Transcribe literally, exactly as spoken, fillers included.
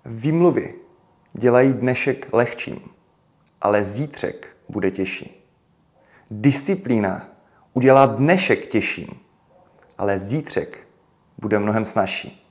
Výmluvy dělají dnešek lehčím, ale zítřek bude těžší. Disciplína udělá dnešek těžším, ale zítřek bude mnohem snazší.